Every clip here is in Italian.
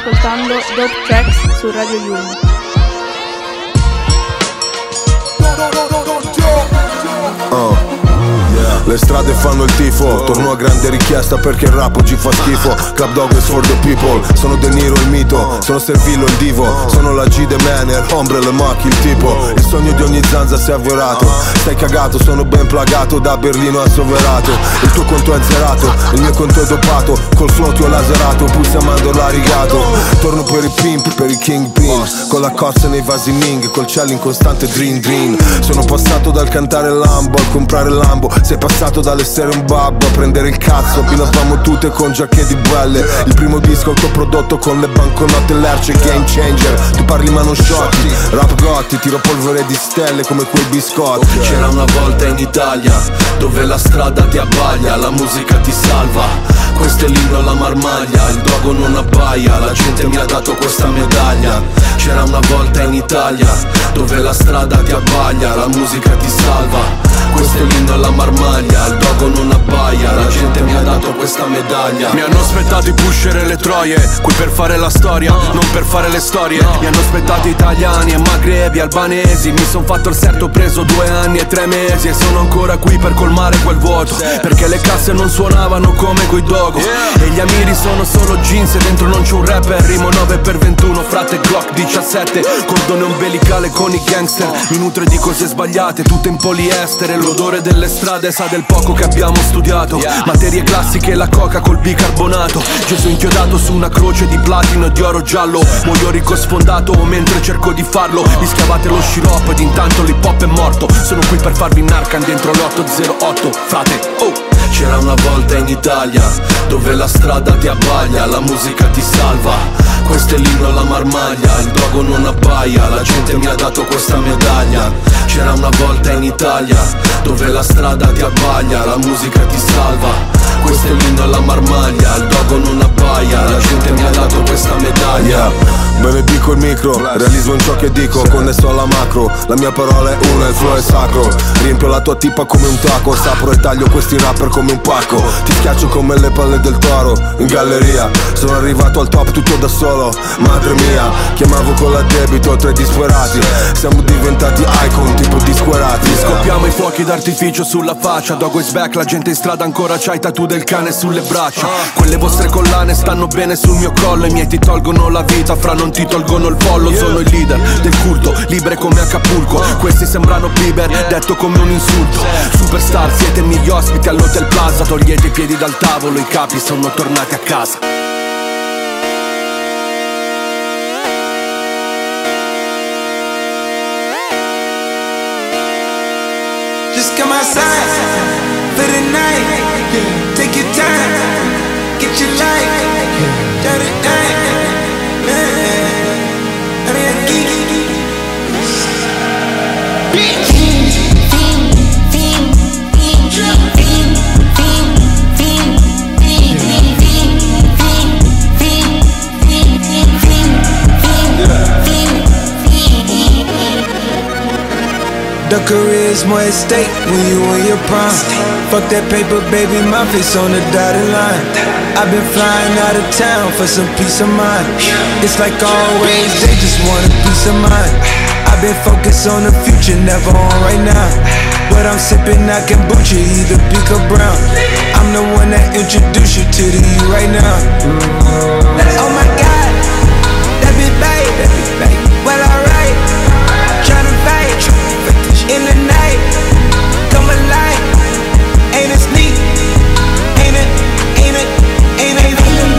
ascoltando Dope Tracks su Radio Yulm. Le strade fanno il tifo, torno a grande richiesta perché il rap oggi fa schifo. Club Dog is for the people, sono De Niro il mito, sono Servillo il divo, sono la G de Manner, Ombre le Machi il tipo. Il sogno di ogni zanza si è avverato, stai cagato, sono ben plagato, da Berlino a Soverato. Il tuo conto è azzerato, il mio conto è dopato, col flow ti ho laserato, pulsi a mandorla rigato. Torno per i pimp, per i kingpin, con la cozza nei vasi Ming, col cielo in costante dream dream. Sono passato dal cantare Lambo al comprare Lambo, sei passato dall'essere un babbo a prendere il cazzo. Abbinavamo tutte con giacche di belle, il primo disco autoprodotto con le banconote Lerce, game changer. Tu parli ma non sciocchi, rap gotti, tiro polvere di stelle come quei biscotti. C'era una volta in Italia dove la strada ti abbaglia, la musica ti salva, questo è l'inno alla marmaglia, il dogo non abbaia, la gente mi ha dato questa medaglia. C'era una volta in Italia dove la strada ti abbaglia, la musica ti salva, questo è l'inno alla marmaglia, il dogo non abbaia, la gente mi ha dato questa medaglia. Mi hanno aspettato i pusher e le troie, qui per fare la storia, non per fare le storie. Mi hanno aspettato italiani e magrebi, albanesi, mi son fatto il serto, ho preso 2 anni e 3 mesi e sono ancora qui per colmare quel vuoto, perché le casse non suonavano come coi dogo e gli amiri sono solo jeans e dentro non c'è un rapper. Rimo 9x21, frate Glock 17, cordone ombelicale con i gangster, mi nutre di cose sbagliate, tutte in poliestere. L'odore delle strade sa del poco che abbiamo studiato, materie classiche, la coca col bicarbonato. Gesù inchiodato su una croce di platino e di oro giallo, muoio ricco sfondato mentre cerco di farlo. Mi schiavate lo sciroppo ed intanto l'hip hop è morto. Sono qui per farvi narcan dentro l'808, frate, oh. C'era una volta in Italia dove la strada ti abbaglia, la musica ti salva, questo è l'inno alla marmaglia, il dogo non abbaia, la gente mi ha dato questa medaglia. C'era una volta in Italia dove la strada ti abbaglia, la musica ti salva, questo è l'inno alla marmaglia, il dogo non abbaia, la gente mi ha dato questa medaglia. Benedico il micro, realizzo in ciò che dico, connesso alla macro, la mia parola è una, il flow è sacro. Riempio la tua tipa come un taco, sapro e taglio questi rapper come un pacco. Ti schiaccio come le palle del toro, in galleria. Sono arrivato al top tutto da solo, madre mia. Chiamavo con l'addebito 3 disperati, siamo diventati icon tipo disquerati. Scoppiamo i fuochi d'artificio sulla faccia, Dogo is back, la gente in strada ancora c'ha i tattoo del cane sulle braccia. Quelle vostre collane stanno bene sul mio collo, i miei ti tolgono la vita, fra non ti tolgono il follow. Sono il leader del culto, libre come Acapulco. Questi sembrano Bieber, detto come un insulto. Superstar, siete miei ospiti all'Hotel Plaza, togliete i piedi dal tavolo, i capi sono tornati a casa. Just come outside for the night. Take your time, get your life. Dirty night. The career's more at stake when you on your prime. Fuck that paper, baby, my face on the dotted line. I've been flying out of town for some peace of mind. It's like always, they just want a peace of mind. I've been focused on the future, never on right now. But I'm sipping that kombucha, either pink or brown. I'm the one that introduced you to the you right now. Oh my God, that be babe, well alright. Tryna fight in the night, come alive. Ain't it sneak? Ain't it? Ain't it? Ain't it?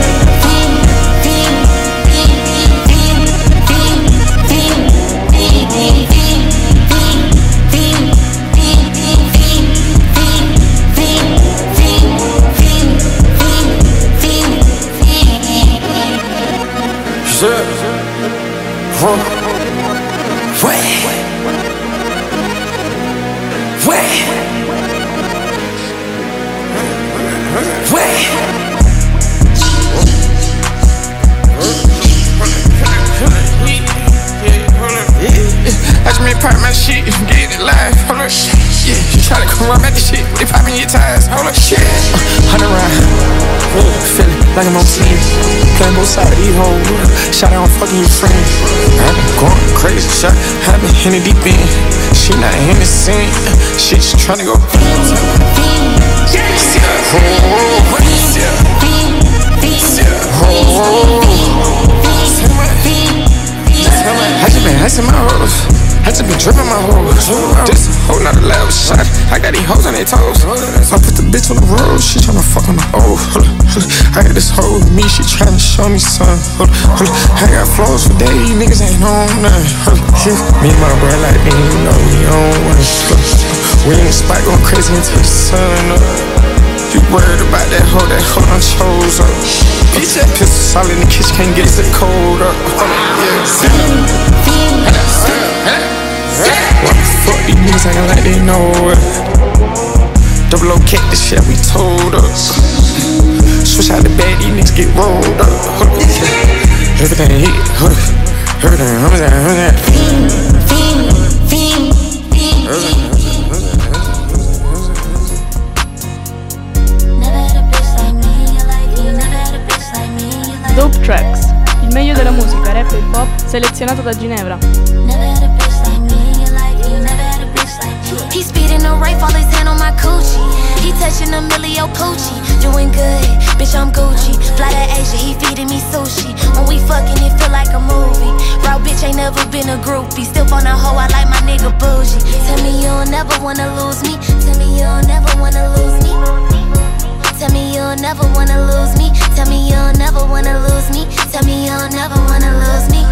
Watch me pop my shit, get it live, hold up, yeah, you try to come around at the shit, they popping your tires, hold up, shit, 100 round, feeling like I'm on team. Playing both sides of these hoes. Shot out, I'm fucking your friend. I've been going crazy, shot. I've been in it deep in. She not in the scene. She just tryna go. I just been icing my hoes. I just been dripping my hoes. This hoe not a loud shot. I got these hoes on their toes. I put the bitch on the road. She tryna fuck on my I got this hoe with me. She tryna show me something. I got flows for days. Niggas ain't on nothing. Me and my bro like me, you know we on one. We in the spot going crazy until the sun up. You worried about that hoe done chose up. Bitch, that pistol solid in the kitchen, can't get it cold up. Why the fuck these niggas acting like they know it? Double O kick the shit we told us. Switch out the bag, these niggas get rolled up. Everything hit, everything, Dope Tracks, il meglio della musica rap e hip hop selezionato da Ginevra. He speeding the right, fall his hand on my coochie. He touching a millio poochie. Doing good, bitch, I'm Gucci. Fly to Asia, he feeding me sushi. When we fucking, it feel like a movie. Raw bitch ain't never been a groupie. Still on a hoe, I like my nigga bougie. Tell me you'll never wanna lose me. Tell me you'll never wanna lose me. Tell me you'll never wanna lose me. Tell me you'll never wanna lose me. Tell me you'll never wanna lose me.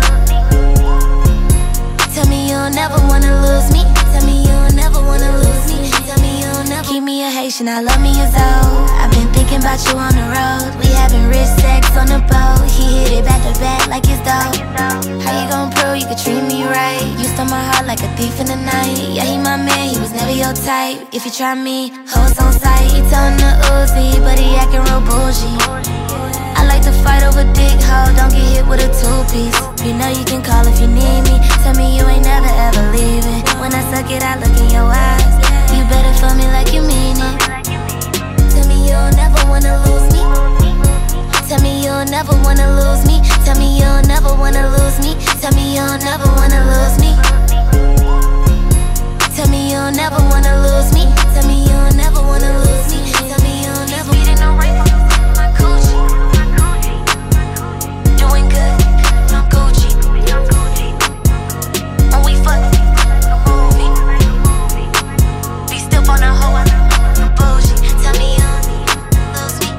Tell me you'll never wanna lose me. Tell me you'll never wanna lose me. Tell me you'll never. Keep me a Haitian, I love me as old. I've been thinking about you on the road. We having rich sex on the boat. He hit it back to back like it's dope. How you gon' prove you could treat me right? You stole my heart like a thief in the night. Yeah, he my man, he was never your type. If you try me, hoes on sight. He tellin' the Uzi, but he acting real bougie. I like to fight over dick, hoe, don't get hit with a two-piece. You know you can call if you need me. Tell me you ain't never ever leaving. When I suck it, I look in your eyes. You better feel me like you mean it. Tell me you'll never wanna lose me. Tell me you'll never wanna lose me. Tell me you'll never wanna lose me. Tell me you'll never wanna lose me. Tell me you'll never wanna lose me. Tell me you'll never wanna lose me. Tell me you'll never. Speeding the right on my coochie. Doing good, I'm Gucci. When we fuck, like a movie. Be still on a hoe, I'm bougie. Tell me you'll lose me.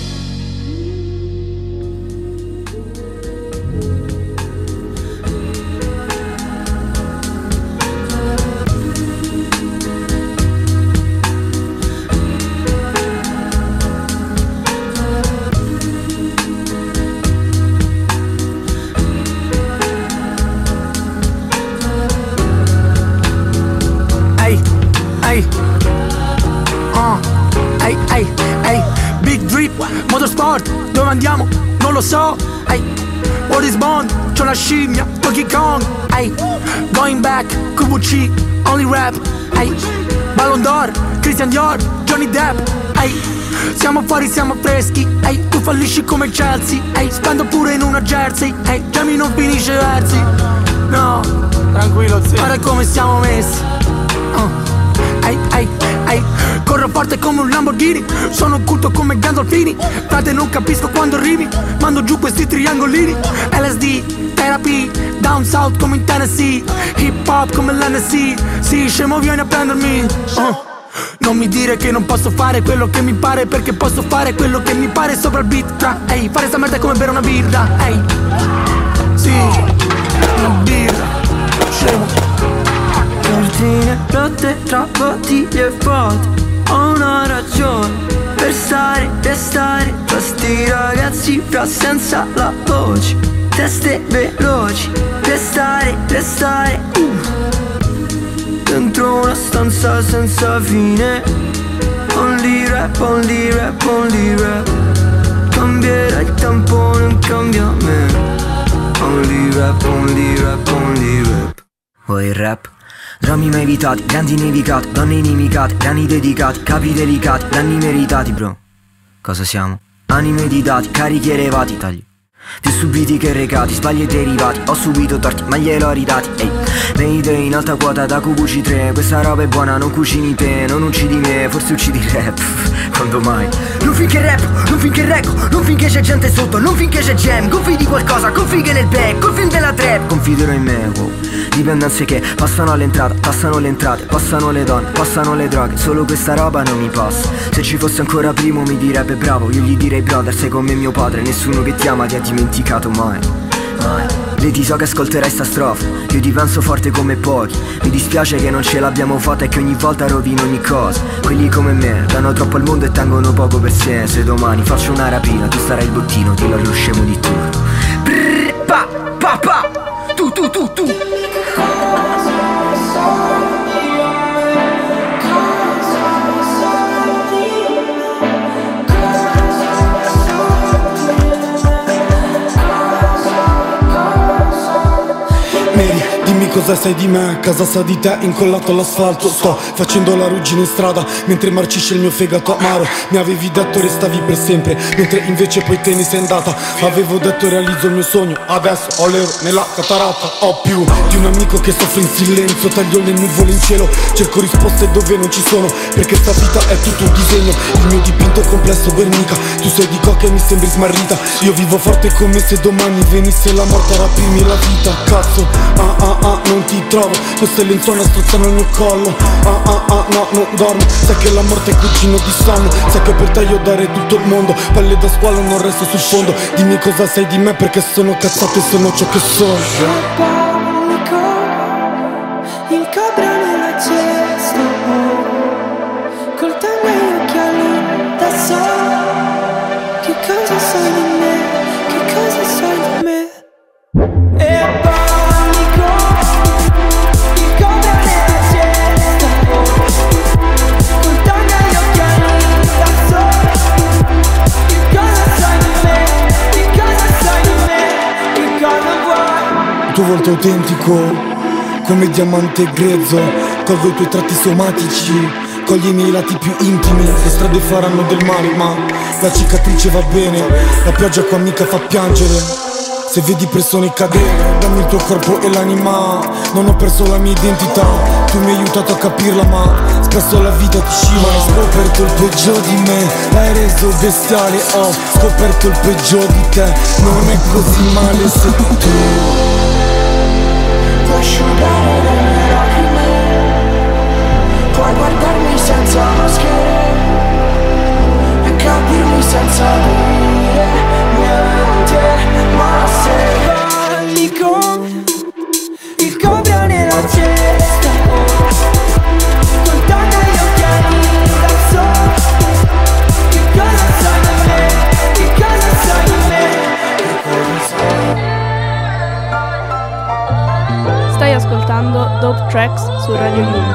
Big drip, motorsport, dove andiamo? Non lo so. What is Bond? C'ho la scimmia, Donkey Kong. Going back, QVC, only rap. Ballon d'Or, Christian Dior, Johnny Depp. Siamo fuori, siamo freschi. Tu fallisci come Chelsea. Spendo pure in una jersey. Jamie non finisce versi. No, tranquillo, zio. guarda come siamo messi. Corro forte come un Lamborghini. Sono culto come Gandolfini. Frate non capisco quando arrivi. Mando giù questi triangolini. LSD, therapy, down south come in Tennessee. Hip hop come l'NSC. Sì, scemo vieni a prendermi. Non mi dire che non posso fare quello che mi pare, perché posso fare quello che mi pare sopra il beat. Fare sta merda è come bere una birra. Sì, una birra. Scemo. Cortine rotte tra bottiglie vuote. Ho una ragione per stare, restare tra sti ragazzi fra senza la voce. Teste veloci, restare dentro una stanza senza fine. Only rap, only rap, only rap. Cambierà il tempo, non cambia me. Only rap, only rap, only rap. Vuoi il rap? Drammi mai evitati, grandi nevicati, donne inimicate, grani dedicati, capi delicati, danni meritati, bro. Cosa siamo? Anime di dati, carichi elevati, tagli più subiti che recati, sbagli e derivati. Ho subito torti, ma gliel'ho ridati. Ehi, Mayday in alta quota da QVC3. Questa roba è buona, non cucini te, non uccidi me, forse uccidi il rap. Quando mai? Non finché rap, non finché reggo, non finché c'è gente sotto, non finché c'è jam. Confidi qualcosa, confighe nel back, col film della trap. Confiderò in me, wow. Dipendenze che passano all'entrata, passano le entrate, passano le donne, passano le droghe. Solo questa roba non mi passa. Se ci fosse ancora primo mi direbbe bravo. Io gli direi brother, sei come mio padre. Nessuno che ti ama ti ha dimenticato mai, mai. Vedi, so che ascolterai sta strofa. Io ti penso forte come pochi. Mi dispiace che non ce l'abbiamo fatta e che ogni volta rovino ogni cosa. Quelli come me danno troppo al mondo e tengono poco per sé. Se domani faccio una rapina tu starai il bottino, ti lo scemo di turno. Brrr, pa, pa, pa. Tu. Dimmi cosa sai di me, casa sa di te, incollato all'asfalto. Sto facendo la ruggine in strada mentre marcisce il mio fegato amaro. Mi avevi detto restavi per sempre, mentre invece poi te ne sei andata. Avevo detto realizzo il mio sogno, adesso ho l'euro nella cataratta. Ho più di un amico che soffre in silenzio, taglio le nuvole in cielo, cerco risposte dove non ci sono, perché sta vita è tutto un disegno. Il mio dipinto complesso Guernica, tu sei di coca e mi sembri smarrita. Io vivo forte come se domani venisse la morte a rapirmi la vita. Cazzo, non ti trovo, queste lenzuola strozzano il mio collo. No, non dormo, sai che la morte è cugino di sonno. Sai che per te io darei tutto il mondo, palle da squalo non resto sul fondo. Dimmi cosa sai di me perché sono cazzato e sono ciò che sono. Il cobra nella cesta, col tango e gli occhiali da solo. Che cosa sai di me? Che cosa sai di me? E panico, il cobra nella cesta, col tango e gli occhiali da solo. Che cosa sai di me? Che cosa sai di me? Che cosa vuoi? Il tuo volto autentico come diamante grezzo, colgo i tuoi tratti somatici, cogli i miei lati più intimi. Le strade faranno del male ma la cicatrice va bene. La pioggia qua mica fa piangere. Se vedi persone cadere, dammi il tuo corpo e l'anima. Non ho perso la mia identità, tu mi hai aiutato a capirla ma spesso la vita ti scivola. Ho scoperto il peggio di me, l'hai reso bestiale. Ho scoperto il peggio di te, non è così male se tu puoi asciugare le mie lacrime, puoi guardarmi senza maschere e capirmi senza dire niente. Ma se panico, il cobra nella cesta, col tango e gli occhiali da solo. Che cosa sai di me? Che cosa sai di me? Che cosa sai? Stai ascoltando Dope Tracks su Radio Yulm.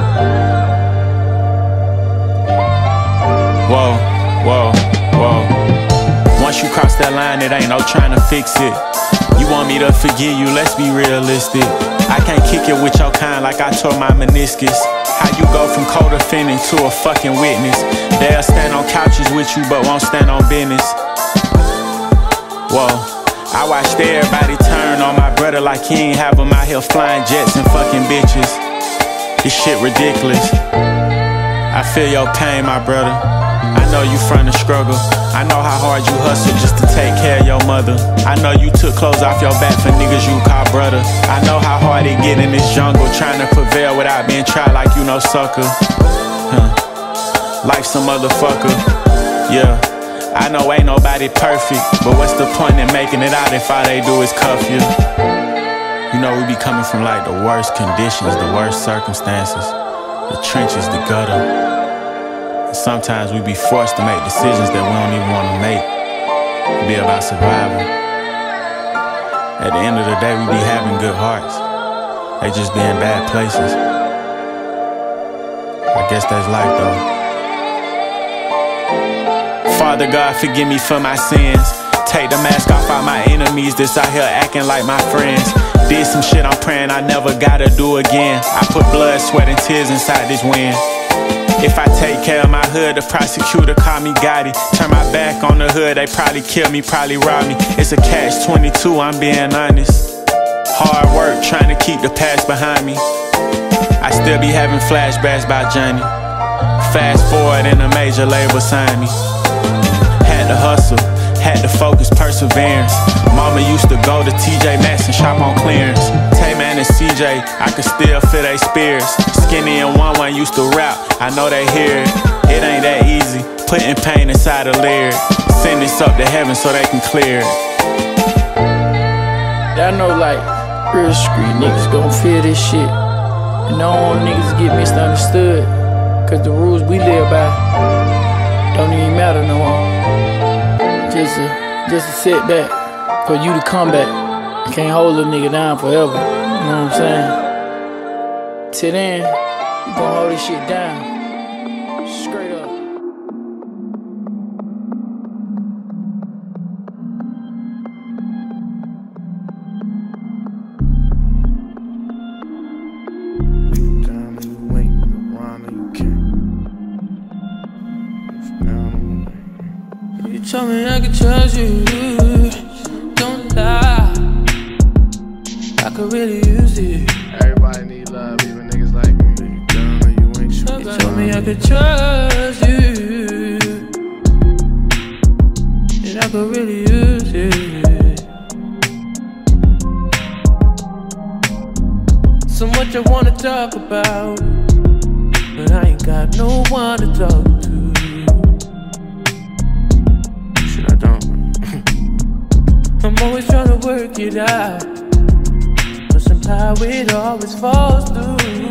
Whoa. Once you cross that line, it ain't no trying to fix it. You want me to forgive you, let's be realistic. I can't kick it with your kind like I tore my meniscus. How you go from co-defendant to a fucking witness? They'll stand on couches with you but won't stand on business. Whoa, I watched everybody turn on my brother like he ain't have him out here flying jets and fucking bitches. This shit ridiculous. I feel your pain, my brother. I know you from the struggle. I know how hard you hustle just to take care of your mother. I know you took clothes off your back for niggas you call brother. I know how hard it get in this jungle trying to prevail without being tried like you no sucker. Life's a motherfucker. Yeah, I know ain't nobody perfect, but what's the point in making it out if all they do is cuff you? You know we be coming from like the worst conditions, the worst circumstances, the trenches, the gutter. Sometimes we be forced to make decisions that we don't even want to make. It be about survival. At the end of the day, we be having good hearts. They just be in bad places. I guess that's life though. Father God, forgive me for my sins. Take the mask off all my enemies that's out here acting like my friends. Did some shit I'm praying I never gotta do again. I put blood, sweat, and tears inside this wind. If I take care of my hood, the prosecutor call me Gotti. Turn my back on the hood, they probably kill me, probably rob me. It's a catch-22, I'm being honest. Hard work, trying to keep the past behind me. I still be having flashbacks about Johnny. Fast forward and a major label signed me. Had to hustle, had to focus, perseverance. Mama used to go to TJ Maxx and shop on clearance. Tay-Man and CJ, I could still feel they spears. Skinny and One used to rap, I know they hear it. It ain't that easy, putting pain inside a lyric. Send this up to heaven so they can clear it. I know like real street niggas gon' feel this shit. And I don't want niggas to get misunderstood. Cause the rules we live by don't even matter no more. Just a setback for you to come back. You can't hold a nigga down forever. You know what I'm saying? Till then, you gon' hold this shit down. Straight up. Tell me I can trust you, don't lie. I could really use it. Everybody need love, even niggas like me. You ain't sure. You told me I could trust you, and I could really use it. So much I wanna talk about, but I ain't got no one to talk to. I'm always trying to work it out, but somehow it always falls through.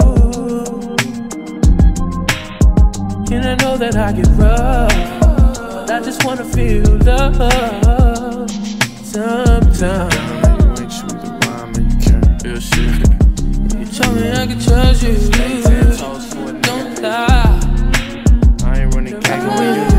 And I know that I get rough, but I just wanna feel love sometimes. You ain't sweet the rhyme and you can't feel shit. You told me I could trust you, don't lie. I ain't running back on you.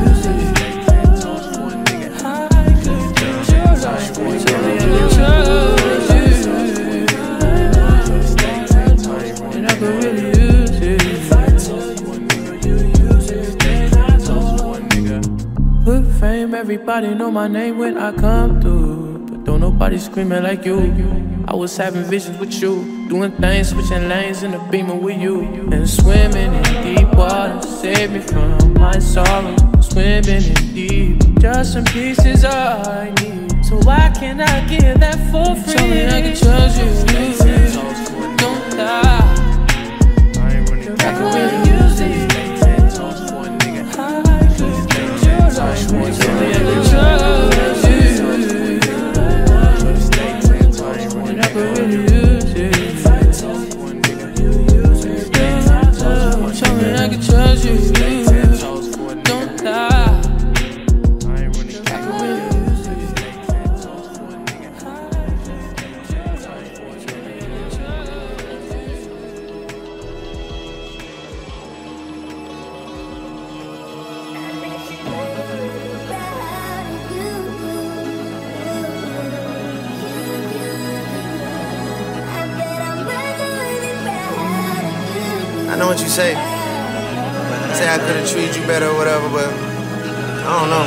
Put fame, everybody know my name when I come through, but don't nobody screaming like you. I was having visions with you, doing things, switching lanes in the Beamer with you, and swimming in deep water. Save me from my sorrows. Swimming in deep, just some pieces all I need. So why can't I give that for free? Tell me I can trust you, don't lie. I can really use it. Tell me I can trust you, and I can really use it. Tell me I can trust you, don't lie. I know what you say. Say I could've treated you better or whatever, but I don't know.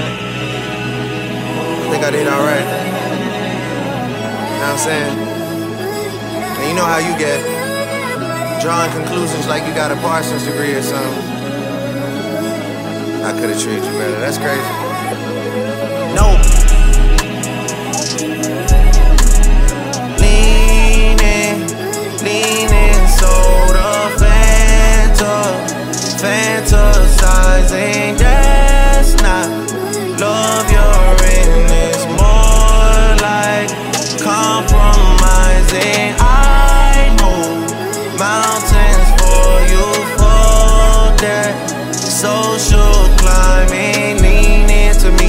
I think I did alright. You know what I'm saying? And you know how you get. Drawing conclusions like you got a Parsons degree or something. I could've treated you better. That's crazy. No. Leaning, soda, fantasizing, that's not love. You're in this more like compromising. I move mountains for you for that social climbing. Lean into me,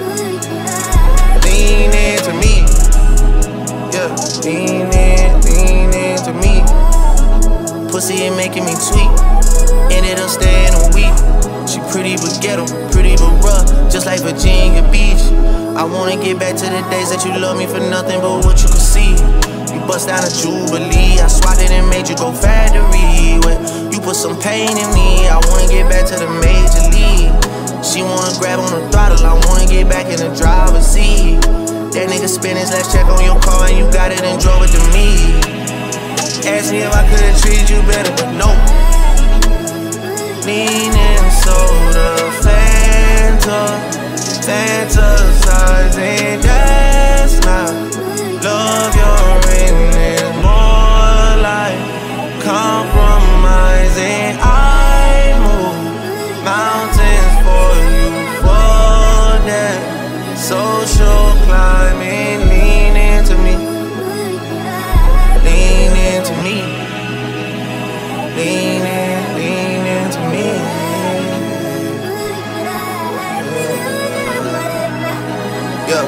yeah, lean into me. Pussy ain't making me tweak, and it'll stay in a week. She pretty but ghetto, pretty but rough, just like Virginia Beach. I wanna get back to the days that you love me for nothing but what you could see. You bust down a Jubilee, I swatted and made you go factory. When you put some pain in me. I wanna get back to the major league. She wanna grab on the throttle, I wanna get back in the driver's seat. That nigga spent his last check on your car and you got it and drove it to me. Ask me if I could've treated you better, but no. Lean and soda, fantasizing, that's not love. You're in it, more like compromising. I move mountains for you, for that social climbing. Lean into me, lean into me, lean into me. Yeah.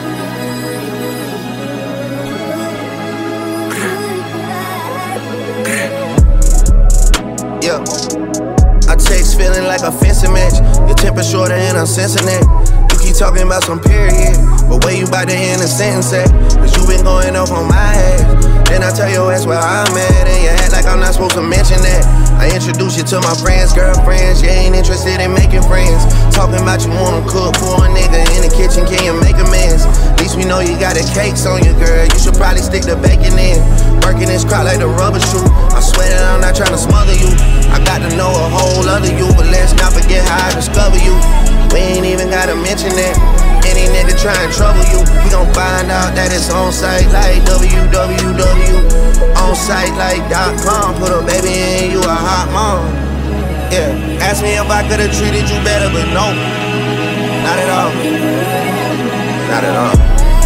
Yeah. I text feeling like a fencing match. Your temper shorter and I'm sensing that. You keep talking about some period, but where you about to end a sentence at? Cause you been going off on my ass. Then I tell your ass where I'm at, and you act like I'm not supposed to mention that. I introduce you to my friends, girlfriends. You ain't interested in making friends. Talking about you wanna cook for a nigga in the kitchen, can you make amends? At least we know you got the cakes on you, girl. You should probably stick the bacon in. Working this crowd like the rubber shoe. I swear that I'm not trying to smother you. I got to know a whole other you, but let's not forget how I discover you. We ain't even gotta mention that. Any nigga try and trouble you, we gon' find out that it's on site like www. On site like .com. Put a baby in, you a hot mom. Yeah, ask me if I could've treated you better, but no, not at all. Not at all.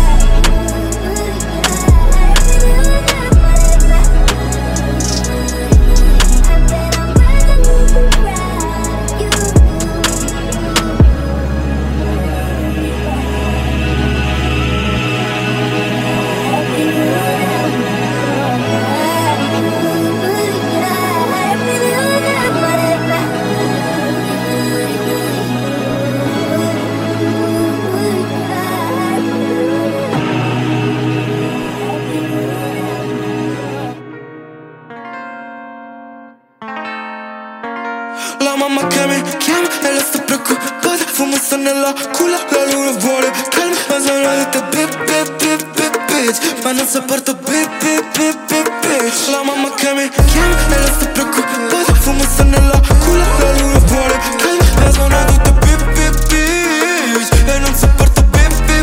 La mamma che mi chiama e lei sta preoccupata. Fumo sta nella culla, la luna vuole calma. Ma sono dette bitch, ma non sopporto bitch. La mamma che mi chiama e lei sta preoccupata. Fumo sta nella culla, la luna vuole calma. Ma sono tutte bitch e non sopporto bitch.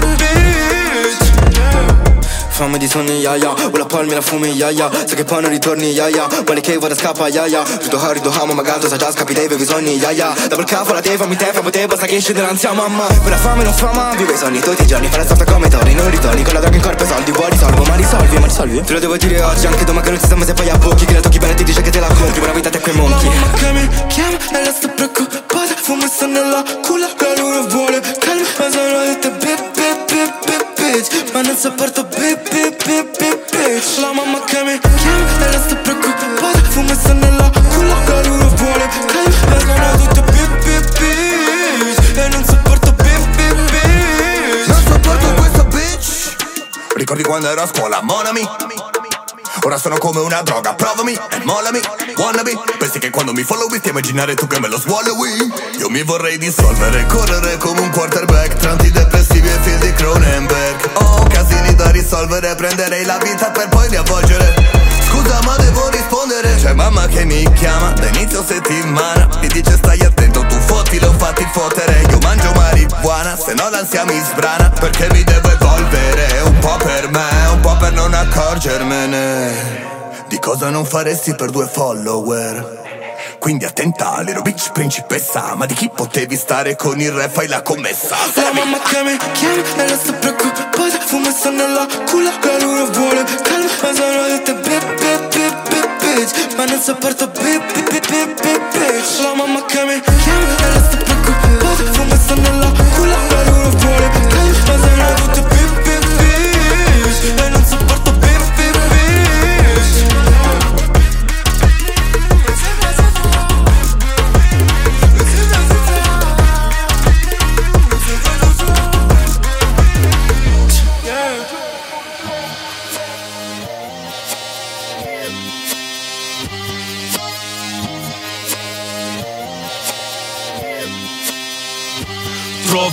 Fame di sogni, ya. Una palmi la fumi, ya. So che poi non ritorni, ya. Quale che vada scappa, ya. Rido hamo, magato, sa già scappi dei veri sogni, ya. Double capo, la te, fammi te, basta che esci dall'ansia, mamma. Quella fame non fama, vivo i sogni tutti i giorni. Fare stata come Tony, non ritorni. Con la droga in corpo e soldi, vuoi risolvo, ma risolvi. Te lo devo dire oggi, anche domani che non si sa, ma se poi a bocchi. Che la tocchi bene ti dice che te la compri. Buona vita te quei monchi. La mamma che mi chiama e la sto preoccupata. Fumo sta nella culla, la luna vuole calma. Ma sono dette bitch, ma non sopporto bitch. La mamma che mi chiama e la sto preoccupata. Fumo sta nella culla, la luna vuole calma. Ma sono tutte bitch e non sopporto bitch. Non sopporto questa bitch. Ricordi quando ero a scuola, monami? Ora sono come una droga, provami e mollami, wannabe. Pensi che quando mi followi ti immaginare tu che me lo swallowi? Io mi vorrei dissolvere, correre come un quarterback tra antidepressivi e film di Cronenberg. Ho casini da risolvere, prenderei la vita per poi riavvolgere. Scusa ma devo rispondere, c'è mamma che mi chiama da inizio settimana. Mi dice stai attento, tu fottilo, fatti fottere. Io mangio marijuana, se no l'ansia mi sbrana. Perché mi devo evolvere, un po' per me, un po' per non accorgermene di cosa non faresti per 2 follower. Quindi attenta, little bitch, principessa. Ma di chi potevi stare con il re, fai la commessa. La mamma che mi chiama e la sto preoccupata. Fumo sta nella culla, la luna vuole calma. Ma sono dette bitch, ma non sopporto bitch. La mamma che mi chiama e la sto preoccupata. Fumo sta nella culla, la luna vuole calma. Ma sono tutte bitch e non sopporto bitch.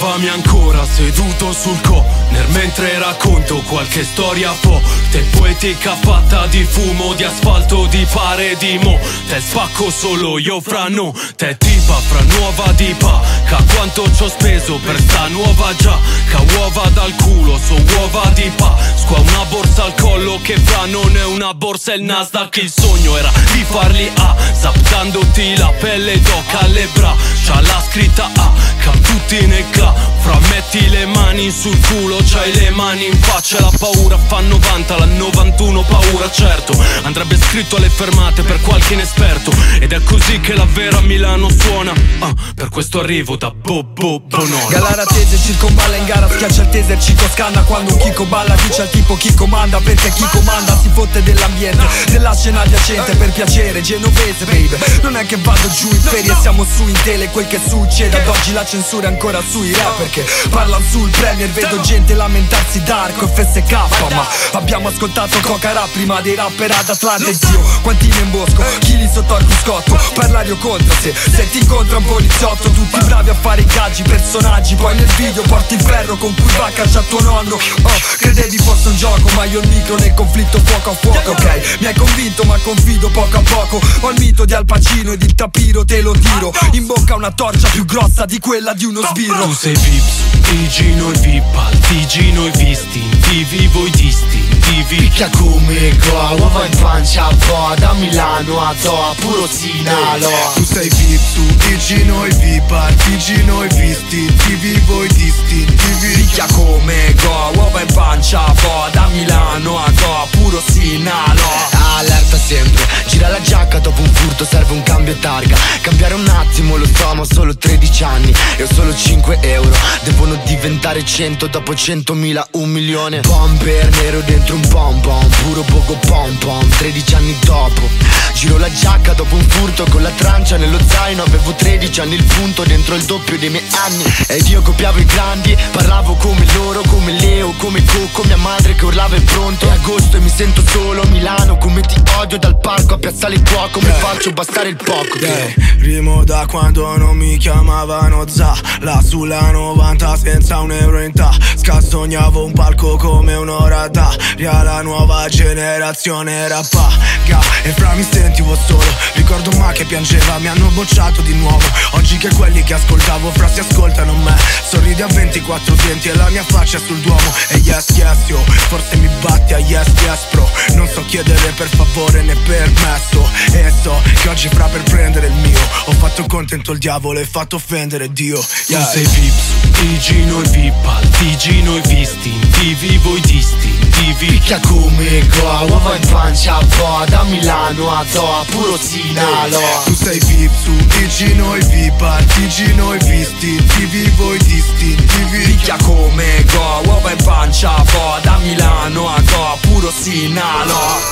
Trovami ancora seduto sul corner mentre racconto qualche storia forte, poetica fatta di fumo, di asfalto, di pare di mo. Te spacco solo io fra no, te tipa fra nuova dipa. Ca quanto ci ho speso per sta nuova giacca, uova dal culo, so uova di Pasqua. Una borsa al collo che fra non è una borsa, è il Nasdaq. Il sogno era di farli a, saptandoti la pelle d'oca alle braccia, la scritta A, cam tutti ne cla. Fra metti le mani sul culo, c'hai le mani in faccia. La paura fa 90, la 91 paura certo. Andrebbe scritto alle fermate per qualche inesperto. Ed è così che la vera Milano suona. Per questo arrivo da Bobo Bonona. Galara tese circonvalla in gara, schiaccia il taser, Cico scanna quando un Chico balla. Dice al tipo chi comanda, perché chi comanda si fotte dell'ambiente, della scena adiacente. Per piacere, genovese baby, non è che vado giù in ferie, siamo su in tele. Quel che succede ad oggi la censura è ancora sui rapper che parlano sul premier. Vedo gente lamentarsi d'Arco e FSK, ma abbiamo ascoltato Coca Rap prima dei rapper ad Atlanta. Zio, quanti in bosco, chili sotto al cruscotto. Parlare o contra se ti incontra un poliziotto. Tutti bravi a fare ingaggi, personaggi. Poi nel video porti il ferro con cui va a caccia tuo nonno. Credevi fosse un gioco, ma io il micro nel conflitto fuoco a fuoco. Ok, mi hai convinto ma confido poco a poco. Ho il mito di Al Pacino ed il tapiro te lo tiro. In bocca una torcia più grossa di quella di uno sbirro. Tu sei Vips, TG noi VIP, al TG noi visti, TV voi distintivi. Picchia come qua, uova in pancia a po', da Milano a Toa, puro Sinalo. Tu sei VIP, su TG noi VIP, al TG noi visti, TV voi distintivi. Picchia come go, uova in pancia a po', da Milano a Toa, puro Sinalo. Allerta sempre, gira la giacca dopo un furto, serve un cambio targa. Cambiare un attimo lo so, ma ho solo 13 anni e ho solo 5 euro. Devono diventare 100, dopo 100.000 1 milione. Bomber nero dentro un pom pom, puro poco pom pom. 13 anni dopo, giro la giacca dopo un furto, con la trancia nello zaino. Avevo 13 anni, il punto dentro il doppio dei miei anni. Ed io copiavo i grandi, parlavo come loro, come Leo, come Coco. Mia madre che urlava è pronto, è agosto e mi sento solo. Milano come ti odio, dal parco a Piazzale Cuoco. Mi faccio bastare il poco. Rimo da quando non mi chiamavano Za, là sulla 90 senza un euro in tasca. Sognavo un palco come un'ora d'aria, la nuova generazione rappaga. E fra mi sentivo solo, ricordo ma che piangeva, mi hanno bocciato di nuovo. Oggi che quelli che ascoltavo fra si ascoltano me. Sorridi a 24 denti e la mia faccia è sul Duomo. E yes yes yo, forse mi batti a yes yes bro. Non so chiedere per favore né permesso, e so che oggi fra per prendere il mio ho fatto contento il diavolo e fatto offendere Dio. Tu sei Vips, TG noi VIP, al TG noi visti, TV voi distintivi. Picchia come qua, uova in pancia a po', da Milano a Toa, puro Sinalo. Tu sei VIP, su TG noi VIP, al TG noi visti, TV voi distintivi. Picchia come go, uova in pancia a po', da Milano a Toa, puro Sinalo.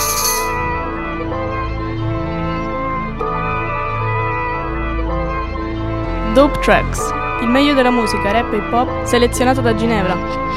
Dope Tracks, il meglio della musica rap e hip hop selezionato da Ginevra.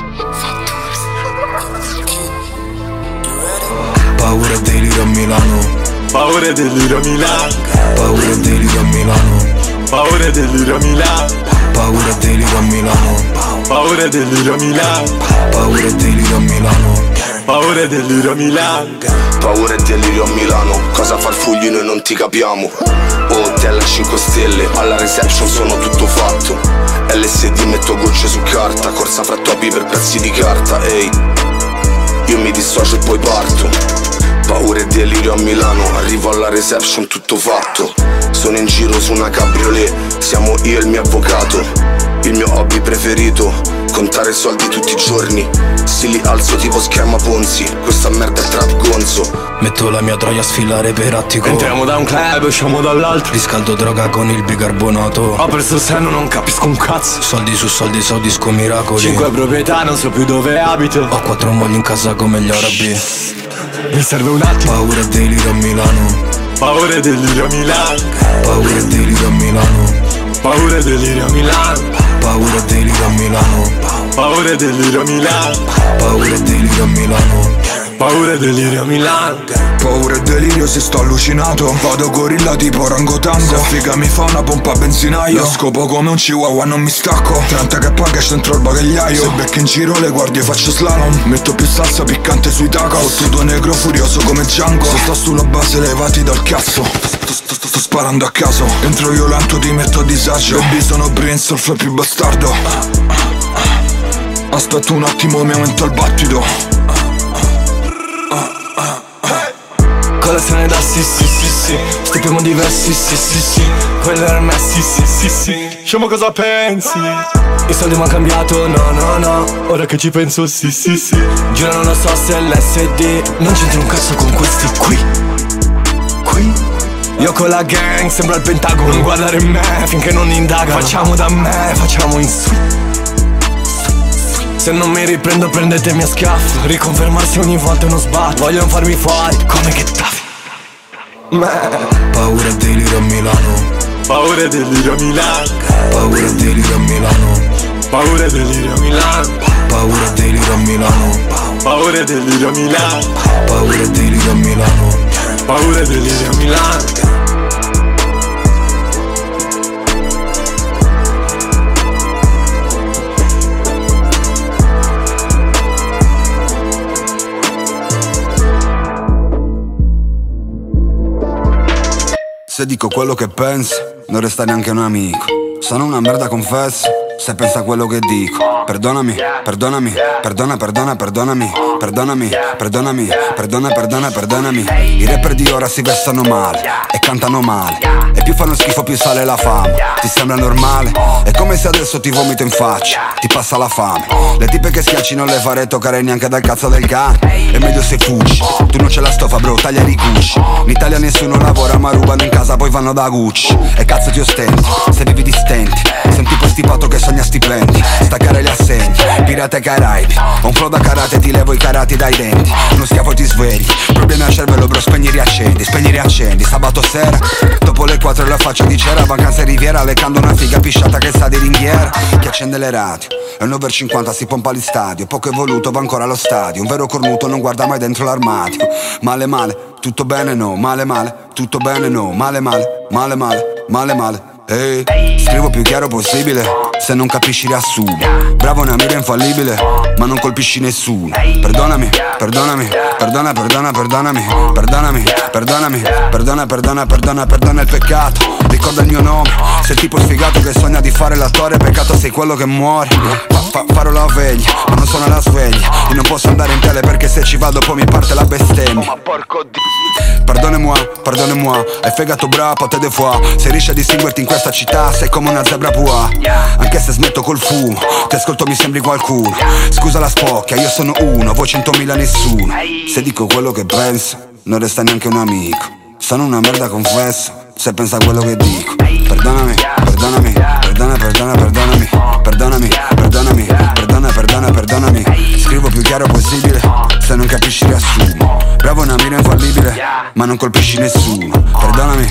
Paura e delirio a Milano, paura e delirio a Milano, paura e delirio a Milano, paura e delirio a Milano, paura e delirio a Milano, paura e delirio a Milano, paura e delirio a Milano, paura e delirio a Milano, paura e delirio a Milano. Cosa farfugli noi non ti capiamo. Hotel a 5 stelle, alla reception sono tutto fatto. LSD metto gocce su carta, corsa fra topi per pezzi di carta. Ehi, io mi dissocio e poi parto. Paura e delirio a Milano, arrivo alla reception tutto fatto. Sono in giro su una cabriolet, siamo io e il mio avvocato. Il mio hobby preferito, contare soldi tutti i giorni. Se li alzo tipo schema Ponzi, questa merda è trap gonzo. Metto la mia troia a sfilare per attico. Entriamo da un club, usciamo dall'altro. Riscaldo droga con il bicarbonato. Ho perso il senno, non capisco un cazzo. Soldi su soldi, so disco miracoli. 5 proprietà, non so più dove abito. Ho 4 mogli in casa come gli arabi. Mi serve un attimo. Paura e delirio a Milano, paura e delirio a Milano, paura e delirio a Milano, paura e delirio a Milano, paura e delirio a Milano, paura e delirio a Milano, paura e delirio a Milano. Paura e delirio a Milano. Paura e delirio se sto allucinato. Vado gorilla tipo orangotango. Se figa mi fa una pompa a benzinaio. Scopo come un chihuahua non mi stacco. 30 che paga dentro il bagagliaio. Se becco in giro le guardie faccio slalom. Metto più salsa piccante sui tacos. Tutto negro furioso come Django. Se sto sulla base levati dal cazzo. Sto sparando a caso. Entro violento ti metto a disagio. Baby sono Prince, il flow più bastardo. Aspetta un attimo mi aumento il battito. Colazione da sì. Stipiamo diversi sì. Quello era me sì. Diciamo cosa pensi? I soldi m'han cambiato no. Ora che ci penso sì. Giuro non lo so se è l'SD. Non c'entro un cazzo con questi qui. Io con la gang sembra il Pentagono. Non guardare me finché non indaga. Facciamo da me, facciamo in su. Se non mi riprendo prendetemi a schiaffo. Riconfermarsi ogni volta è uno sbatto. Vogliono farmi fuori come che taffi. Paura e delirio a Milano. Paura e delirio a Milano. Paura e delirio a Milano. Paura e delirio a Milano. Paura e delirio a Milano. Paura e delirio a Milano. Paura e delirio a Milano. Paura e delirio a Milano. Se dico quello che pensi, non resta neanche un amico. Sono una merda, confesso, se pensa a quello che dico. Perdonami. I rapper di ora si vestono male e cantano male. E più fanno schifo più sale la fame. Ti sembra normale? È come se adesso ti vomito in faccia, ti passa la fame. Le tipe che schiacci non le farei toccare neanche dal cazzo del cane. È meglio se fuggi, tu non c'è la stoffa bro, taglia i cucci. In Italia nessuno lavora ma rubano in casa poi vanno da Gucci. E cazzo ti ostenti, se vivi di stenti. Sei un tipo stipato che sogna stipendi. Staccare gli assegni, pirata e Caraibi. Ho un flow da karate, ti levo i karati dai denti. Uno schiaffo ti svegli, problemi al cervello bro, spegni riaccendi. Sabato sera, dopo le 4 la faccia di cera. Vacanza e Riviera, lecando una figa pisciata che sa di ringhiera. Chi accende le radio, è un over 50 si pompa all'stadio. Poco evoluto va ancora allo stadio. Un vero cornuto non guarda mai dentro l'armadio. Male, tutto bene no, male, tutto bene no, male. Ehi, scrivo più chiaro possibile, se non capisci riassumo. Bravo una mira infallibile, ma non colpisci nessuno. Perdonami, perdona il peccato. Ricorda il mio nome, sei il tipo sfigato che sogna di fare l'attore. Peccato sei quello che muore. Farò la veglia, ma non sono alla sveglia. Io non posso andare in tele perché se ci vado poi mi parte la bestemmia. Ma porco Dio. Pardonnez-moi, hai fegato bra, pote de foie. Se riesci a distinguerti in questa città sei come una zebra pua. Anche se smetto col fumo, ti ascolto mi sembri qualcuno. Scusa la spocchia, io sono uno, voi 100.000 nessuno. Se dico quello che penso, non resta neanche un amico. Sono una merda confesso, se pensa a quello che dico. Perdonami. Scrivo più chiaro possibile, se non capisci riassumo. Bravo una mira infallibile, ma non colpisci nessuno. Perdonami.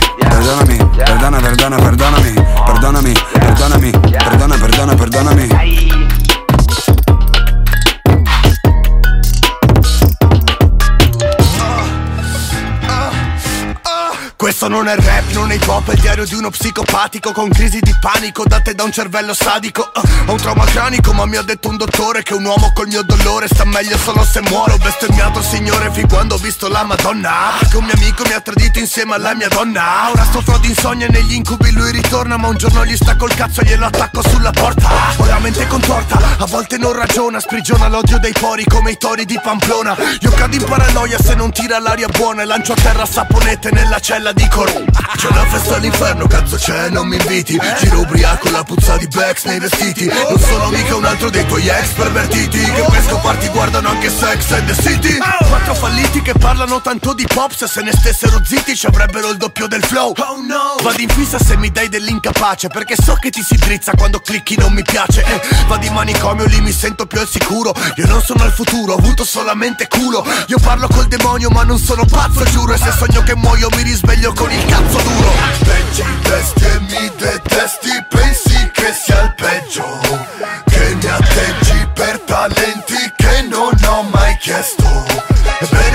Questo non è rap, non è hip hop, è il diario di uno psicopatico con crisi di panico date da un cervello sadico. Ho un trauma cranico ma mi ha detto un dottore che un uomo col mio dolore sta meglio solo se muore. Ho bestemmiato il signore fin quando ho visto la Madonna, perché un mio amico mi ha tradito insieme alla mia donna. Ora sto di insonnia e negli incubi lui ritorna, ma un giorno gli stacco il cazzo e glielo attacco sulla porta. Ho la mente contorta, a volte non ragiona, sprigiona l'odio dei pori come i tori di Pamplona. Io cado in paranoia se non tira l'aria buona e lancio a terra saponette nella cella di Corona. C'è una festa all'inferno, cazzo c'è, non mi inviti. Giro ubriaco, la puzza di Bex nei vestiti. Non sono mica un altro dei tuoi ex pervertiti che per scoparti guardano anche Sex and the City. Quattro falliti che parlano tanto di pop, se ne stessero zitti ci avrebbero il doppio del flow. Oh no. Vado in fissa se mi dai dell'incapace, perché so che ti si drizza quando clicchi non mi piace. Vado in manicomio, lì mi sento più al sicuro. Io non sono al futuro, ho avuto solamente culo. Io parlo col demonio ma non sono pazzo, giuro. E se sogno che muoio mi risveglio con il cazzo duro. Leggi i testi e mi detesti, pensi che sia il peggio, che mi atteggi per talenti che non ho mai chiesto.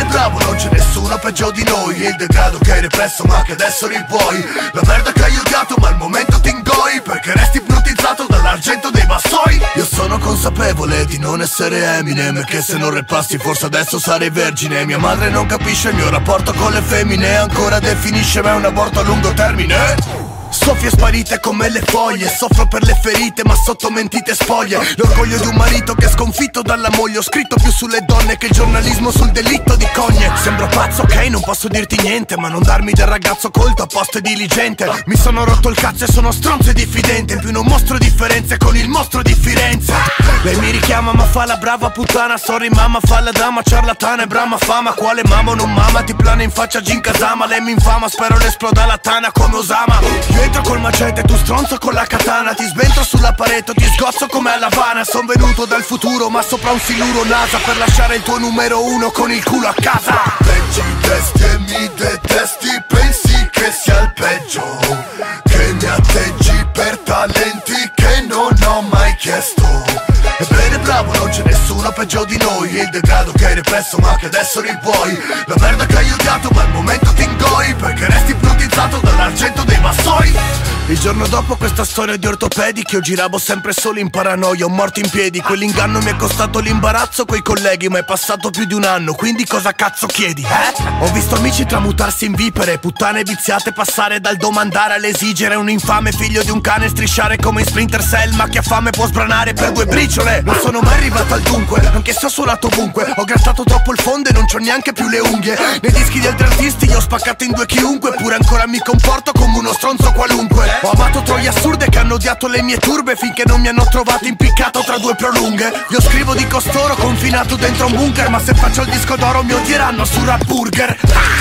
peggio di noi. Il degrado che hai represso ma che adesso ripuoi. La merda che hai odiato ma al momento ti ingoi, perché resti ipnotizzato dall'argento dei vassoi. Io sono consapevole di non essere Eminem, che se non rappassi forse adesso sarei vergine. Mia madre non capisce il mio rapporto con le femmine, ancora definisce me un aborto a lungo termine. Soffie sparite come le foglie, soffro per le ferite ma sotto mentite spoglie. L'orgoglio di un marito che è sconfitto dalla moglie. Ho scritto più sulle donne che il giornalismo sul delitto di cogne. Sembro pazzo, ok, non posso dirti niente, ma non darmi del ragazzo colto a posto e diligente. Mi sono rotto il cazzo e sono stronzo e diffidente, in più non mostro differenze con il mostro di Firenze. Lei mi richiama ma fa la brava puttana, sorry mamma, fa la dama ciarlatana e brama fama. Quale mamma o non mama, ti plana in faccia Gin Kazama. Lei mi infama, spero l'esploda la tana come Osama. Entro col macete, tu stronzo con la katana. Ti sventro sulla parete, ti sgozzo come a Havana. Son venuto dal futuro ma sopra un siluro NASA, per lasciare il tuo numero uno con il culo a casa. Leggi i testi e mi detesti, pensi che sia il peggio, che mi atteggi per talenti che non ho mai chiesto. Ebbene bravo, non c'è nessuno peggio di noi. Il degrado che hai represso ma che adesso ripuoi. La merda che hai odiato ma al momento ti ingoi, perché resti ipnotizzato dall'argento dei vassoi. Il giorno dopo questa storia di ortopedici, io giravo sempre solo in paranoia, ho morto in piedi. Quell'inganno mi è costato l'imbarazzo coi colleghi, ma è passato più di un anno, quindi cosa cazzo chiedi, eh? Ho visto amici tramutarsi in vipere, puttane viziate passare dal domandare all'esigere. Un infame figlio di un cane strisciare come in Splinter Cell, ma chi ha fame può sbranare per 2 briciole. Non sono mai arrivato al dunque, anche se ho suonato ovunque. Ho grattato troppo il fondo e non c'ho neanche più le unghie. Nei dischi di altri artisti io ho spaccato in 2 chiunque, eppure ancora mi comporto come uno stronzo qualunque. Ho amato troie assurde che hanno odiato le mie turbe, finché non mi hanno trovato impiccato tra 2 prolunghe. Io scrivo di costoro confinato dentro un bunker, ma se faccio il disco d'oro mi odieranno su Rap Burger.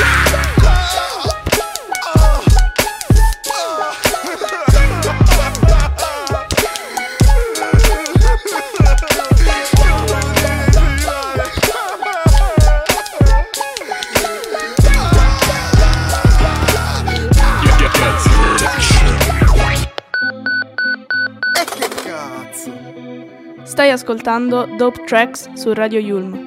Stai ascoltando Dope Tracks su Radio Yulm.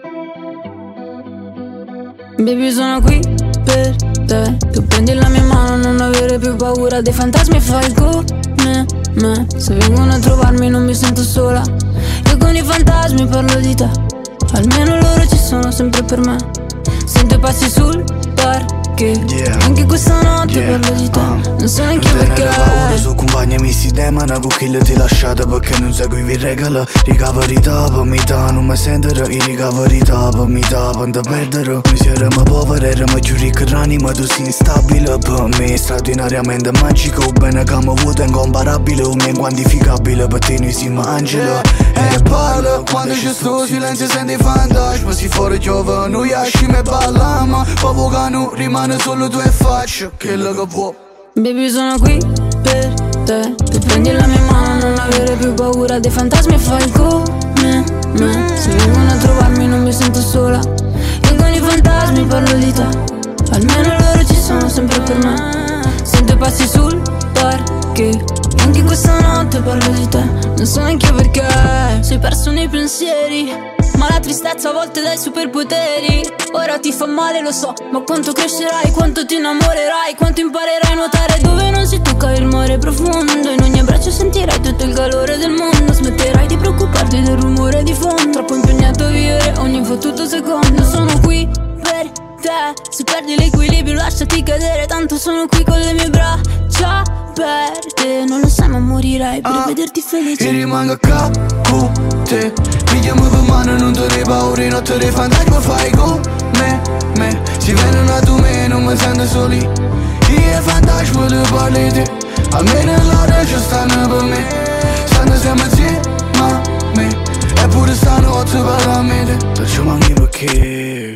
Baby, sono qui per te. Tu prendi la mia mano, non avere più paura dei fantasmi e fai come me. Se vengono a trovarmi non mi sento sola. Io con i fantasmi parlo di te. Almeno loro ci sono sempre per me. Sento i passi sul parquet. Anche questa notte parlo di te. Non so neanche perché. Ora su compagni mi si demana con chi ti lasciate, perché non seguivi regole. Ricaveri dopo mi dà, non mi sentono. I ricaveri dopo mi dà, quando perdere. Noi siamo poveri, eravamo più ricchi ma tu sei instabile. Per me straordinariamente magico. Bene che mi vuoto incomparabile, un mio inquantificabile. Per te noi siamo angeli. E parla, quando c'è sto silenzio senti fantasma. Si fuori piove, noi esciamo e balliamo. Proprio che non rimane solo tu e faccio quello che può. Baby, sono qui per te. Tu prendi la mia mano, non avere più paura dei fantasmi e fai come me. Se vengono a trovarmi non mi sento sola. Io con i fantasmi parlo di te. Almeno loro ci sono sempre per me. Sento i passi sul parquet. Anche questa notte parlo di te. Non so neanche perché. Sei perso nei pensieri, ma la tristezza a volte dai superpoteri. Ora ti fa male, lo so, ma quanto crescerai, quanto ti innamorerai, quanto imparerai a nuotare dove non si tocca il mare profondo. In ogni abbraccio sentirai tutto il calore del mondo. Smetterai di preoccuparti del rumore di fondo. Troppo impegnato a vivere ogni fottuto secondo. Sono qui per te. Se perdi l'equilibrio lasciati cadere, tanto sono qui con le mie braccia per te. Non lo sai ma morirai per vederti felice. E rimango qua con te. Pigliamo per mano, non te ne paura, notte dei fantasmi fai come me. Si vengono a tu me, non mi sento soli. Io e fantasmi le parli te. Almeno l'ora ci stanno per me. Stanno sempre insieme a me. Eppure stanotte parla a me. Perciò manchi perché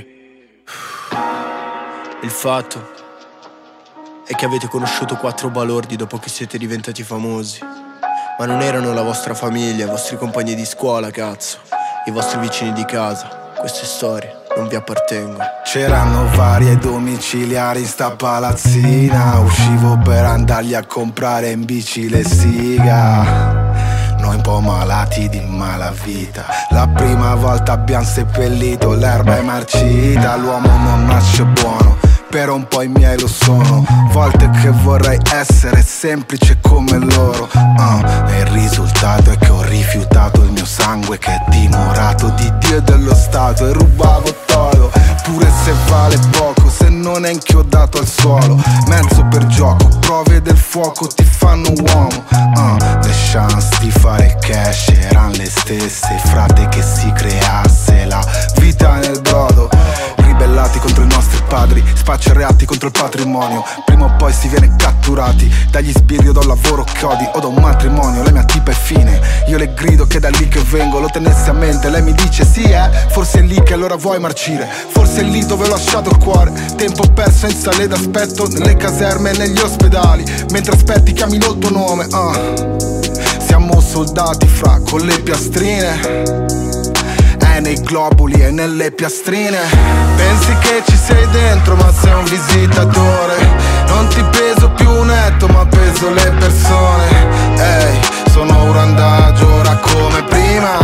il fatto è che avete conosciuto 4 balordi dopo che siete diventati famosi. Ma non erano la vostra famiglia, i vostri compagni di scuola, cazzo. I vostri vicini di casa. Queste storie non vi appartengono. C'erano varie domiciliari in sta palazzina. Uscivo per andargli a comprare in bici le siga. noi un po' malati di malavita. La prima volta abbiamo seppellito l'erba è marcita. L'uomo non nasce buono, però un po' i miei lo sono. Volte che vorrei essere semplice come loro, e il risultato è che ho rifiutato il mio sangue che è timorato di Dio e dello Stato. E rubavo todo, pure se vale poco, se non è inchiodato al suolo. Mezzo per gioco, prove del fuoco ti fanno uomo. Le chance di fare cash erano le stesse, frate, che si creasse la vita nel brodo. Ribellati contro i nostri padri, spacciareati contro il patrimonio. Prima o poi si viene catturati dagli sbirri o da un lavoro che odi o da un matrimonio. La mia tipa è fine, io le grido che è da lì che vengo. Lo tenessi a mente, lei mi dice sì forse è lì che allora vuoi marcire. Forse è lì dove ho lasciato il cuore. Tempo perso in sale d'aspetto, nelle caserme e negli ospedali. Mentre aspetti chiamino il tuo nome. Siamo soldati fra con le piastrine, nei globuli e nelle piastrine. Pensi che ci sei dentro ma sei un visitatore. Non ti peso più netto ma peso le persone. Ehi, sono un randagio ora come prima,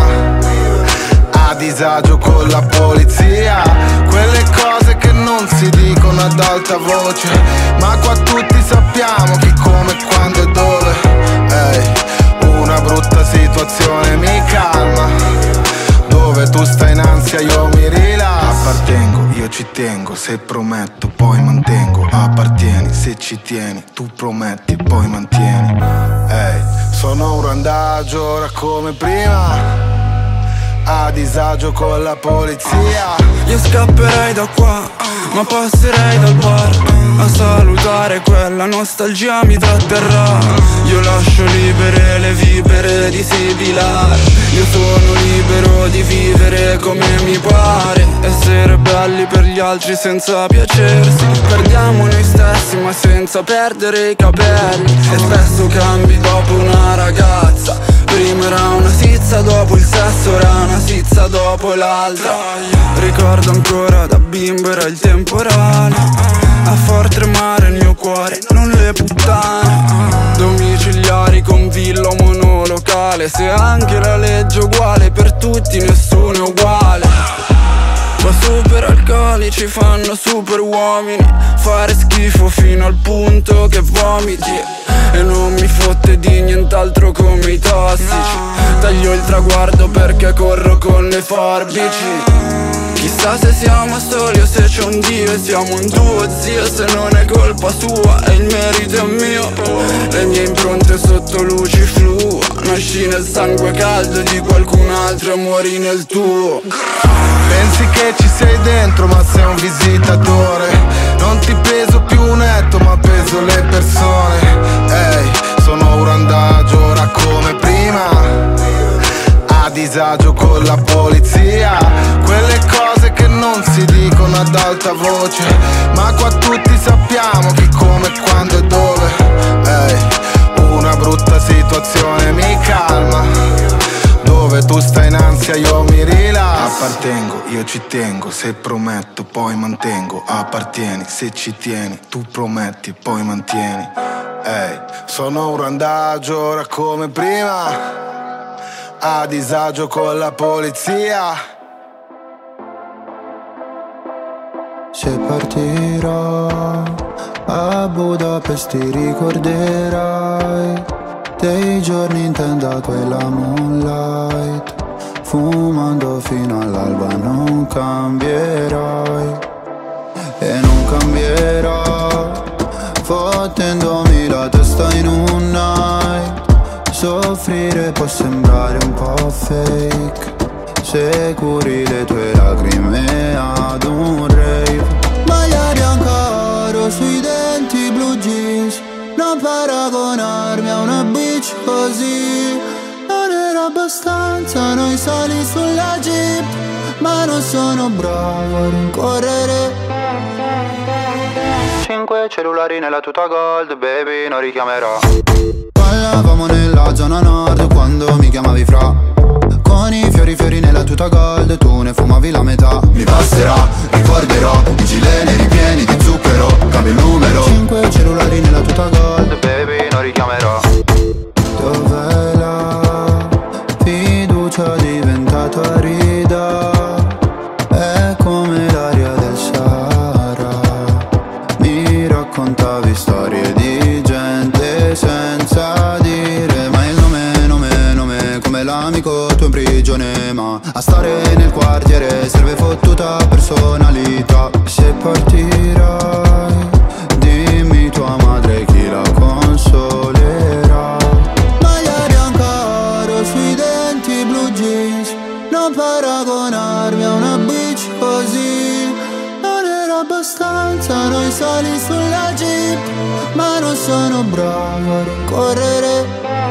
a disagio con la polizia. Quelle cose che non si dicono ad alta voce, ma qua tutti sappiamo chi, come, quando e dove. Ehi, una brutta situazione mi calma. Dove tu stai in ansia io mi rilasso. Appartengo, io ci tengo, se prometto poi mantengo. Appartieni, se ci tieni, tu prometti e poi mantieni. Sono un randagio ora come prima, a disagio con la polizia. Io scapperei da qua, ma passerei dal bar a salutare quella nostalgia mi tratterrà. Io lascio libere le vibere di sibilare. Io sono libero di vivere come mi pare, essere belli per gli altri senza piacersi. Perdiamo noi stessi ma senza perdere i capelli. E spesso cambi dopo una ragazza. Prima era una sizza, dopo il sesso era una sizza dopo l'altra. Ricordo ancora da bimbo era il temporale, a far tremare il mio cuore, non le puttane. Domiciliari con villa o monolocale, se anche la legge è uguale per tutti nessuno è uguale. Ma super alcolici fanno super uomini, fare schifo fino al punto che vomiti. E non mi fotte di nient'altro come i tossici. Taglio il traguardo perché corro con le forbici. Chissà se siamo soli o se c'è un Dio e siamo un duo, zio. Se non è colpa sua e il merito è mio. Le mie impronte sotto luci fluo, nasci nel sangue caldo di qualcun altro e muori nel tuo. Pensi che ci sei dentro ma sei un visitatore. Non ti peso più netto ma peso le persone. Sono un randagio ora come prima, a disagio con la polizia. Quelle cose che non si dicono ad alta voce, ma qua tutti sappiamo chi, come, quando e dove. Una brutta situazione mi calma. Dove tu stai in ansia io mi rilasso. Appartengo, io ci tengo, se prometto poi mantengo. Appartieni, se ci tieni, tu prometti e poi mantieni. Sono un randagio ora come prima, a disagio con la polizia. Se partirò a Budapest ti ricorderai dei giorni in tenda quella moonlight, fumando fino all'alba. Non cambierai e non cambierò, fottendomi la testa in un night. Soffrire può sembrare un po' fake se curi le tue lacrime ad un rave. Maglia bianca sui denti, blue jeans, non paragonarmi a una bitch così. Non era abbastanza noi sali sulla jeep, ma non sono bravo a rincorrere. 5 cellulari nella tuta gold, baby, non richiamerò. Ballavamo nella zona nord quando mi chiamavi fra, con i fiori nella tuta gold, tu ne fumavi la metà. Mi passerà, ricorderò i gileni ripieni di zucchero, cambio il numero. 5 cellulari nella tuta gold, baby, non richiamerò. Dov'è la tutta personalità. Se partirai, dimmi tua madre chi la consolerà. Maglia bianca oro sui denti, blue jeans. Non paragonarmi a una bitch così. Non era abbastanza noi sali sulla jeep, ma non sono bravo a rincorrere.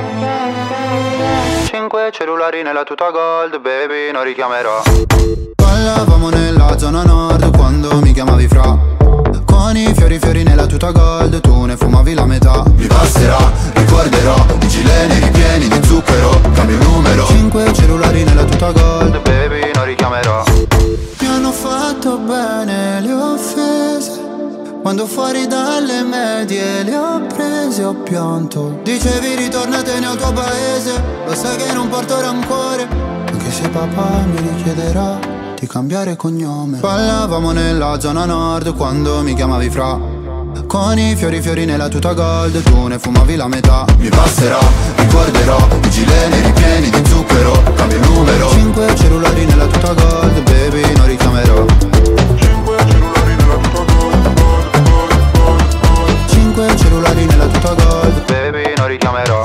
5 cellulari nella tuta gold, baby, non richiamerò. Ballavamo nella zona nord quando mi chiamavi fra. Con i fiori nella tuta gold, tu ne fumavi la metà. Mi passerà, ricorderò i gileni ripieni di zucchero. Cambio il numero. 5 cellulari nella tuta gold, baby, non richiamerò. Mi hanno fatto bene le offese, quando fuori dalle medie le ho prese, ho pianto. Dicevi ritornatene al tuo paese, lo sai che non porto rancore, anche se papà mi richiederà di cambiare cognome. Ballavamo nella zona nord quando mi chiamavi fra. Con i fiori nella tuta gold, tu ne fumavi la metà. Mi passerà, ricorderò i gileni ripieni di zucchero. Cambio il numero. 5 cellulari nella tuta gold, baby, non richiamerò. 5 cellulari nella tuta gold, baby, non richiamerò.